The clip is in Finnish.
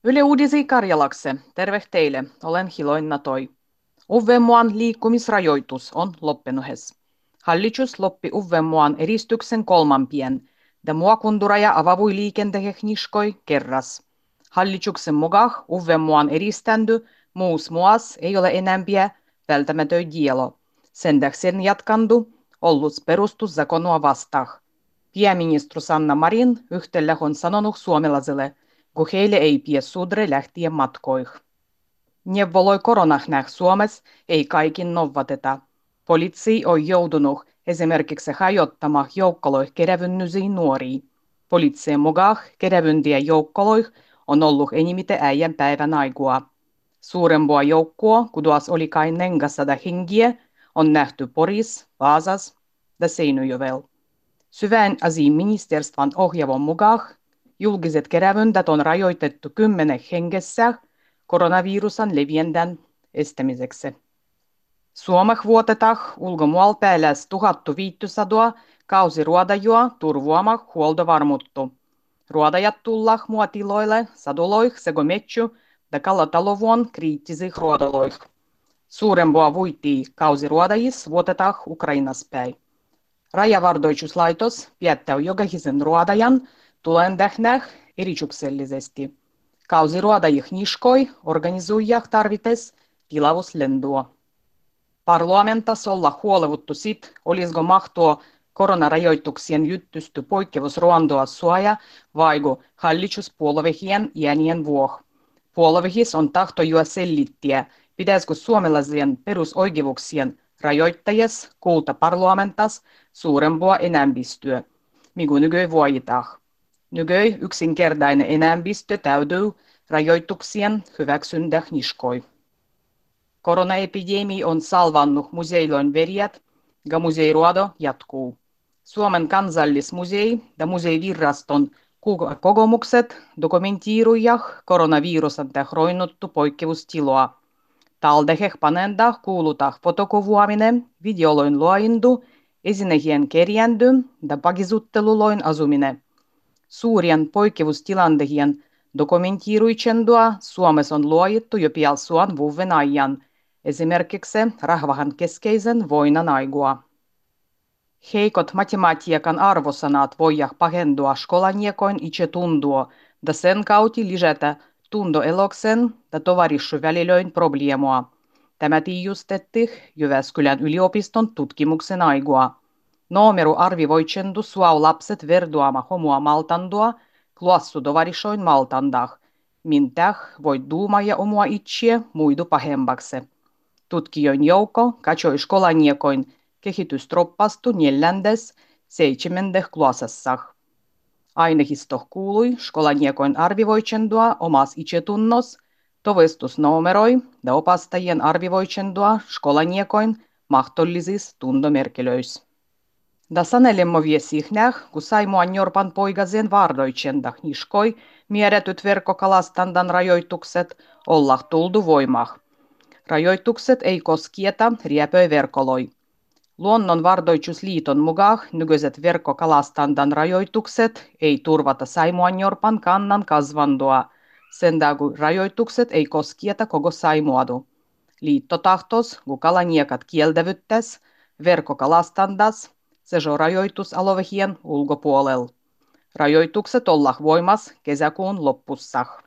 Yle Uudisi Karjalakse, terve teille, olen Hiloinna Toi. Uudenmaan liikkumisrajoitus on loppenuhes. Hallitus loppi Uudenmaan eristyksen kolmanpien, ja muokunduraja avavui liikenteehniskoi kerras. Hallituksen mukaan Uudenmaan eriständy muus muas ei ole enämpiä välttämätön dielo. Sen tähden jatkandu ollut perustuszakonua vastaan. Pääministeri Sanna Marin yhtälä on sanonut suomalaisille, kun heille ei pidä sudre lähtien matkoihin. Neuvoloi koronah Suomessa ei kaikin novateta. Poliisi on joutunut esimerkiksi hajottamaan joukkoloih kerävynnysiin nuoria. Poliisien mukaan kerävyntiä joukkoloih on ollut enimmiten äijän päivän aikua. Suurempua joukkoa, kuduas oli kai 400 hengiä, on nähty Poris, Vaasas ja Seinäjoella. Syvän asian ministerstvan ohjaavon mukaan julkiset kerävyndat on rajoitettu 10 hengessä koronavirusan leviännän estämiseksi. Suomessa vuotetaan ulkomualta lähes 1500 kausiruodajua turvuamaan huoltovarmuutta. Ruodajat tullaan muotiloille, saduloih sekä metsy- ja kalatalouvuon kriittisiin ruodaloih. Suurempua vuitia kausiruodajissa vuotetaan Ukrainas päin. Rajavardoituslaitos päättää jokaisen ruodajan tulen tehdä erityksellisesti. Kausiruodajih niskoi organisoijah tarvites tilavuslendua. Parlamentasolla huolevuttu sit, olisiko mahtua koronarajoituksien juttusty poikkeusruondoa suoja vaigo hallituspuolueiden jäänien vuoh. Puolueis on tahto jo selittiä, pitäisikö suomalaisien perusoikeuksien rajoittajas kuulta parlamentas suurempua enemmistöä, mikä nykyään voitaan. Nykyään yksinkertainen enemmistö täytyy rajoituksien hyväksyntä niskoi. Koronaepidemia on salvannut museiloin verjät ja museiruodo jatkuu. Suomen kansallismusei ja museiviraston kokemukset dokumentoivat koronavirusan tahroinnuttu poikkeustiloa. Taldeheh panenda kuulutaan fotokuvaaminen, videoloin luoindu, esinehien kerjändy ja pakisutteluloin asuminen. Suurien poikkeustilanteiden dokumentoiruichendua Suomessa on luojettu jo pian vuoden ajan, esimerkiksi rahvahan keskeisen voinan aikua. Heikot matematiikan arvosanat voivat pahentua skolaniekoin itsetuntoa ja sen kautta lisätä tuntoeloksen ja tovarissuväliloin probleemoa. Tämä tiedustettiin Jyväskylän yliopiston tutkimuksen aikua. Numero arvioitsendu suau lapset verduama homua maltandua, klassu tovarissoin maltandah, mintäh voi duumaja omua itseä muidu pahembaksi. Tutkijoin joukko katsoi skolaniekoin kehitystroppastu 4.–7. klassassa. Aineistoh kuului skolaniekoin arvioitsendua omas itsetunnos, tovestusnumeroi ja opastajien arvioitsendua skolaniekoin mahdollisissa tuntomerkilöissä. Da sanelemmo viesihnäh, kun Saimaan Jorpan poikasen vardoitsendah niskoi määrätyt verkkokalastandan rajoitukset olla tuldu voimah. Rajoitukset ei koskieta riepöiverkoloi. Luonnonvardoitusliiton mukaan nykyiset verkkokalastandan rajoitukset ei turvata Saimaannorpan kannan kasvandua, sen kun rajoitukset ei koskieta koko Saimaadu. Liitto tahtos, kun kalaniekat kieltävyttäs, verkkokalastandas, se on rajoitusalueen ulkopuolella. Rajoitukset olla voimas kesäkuun loppussa.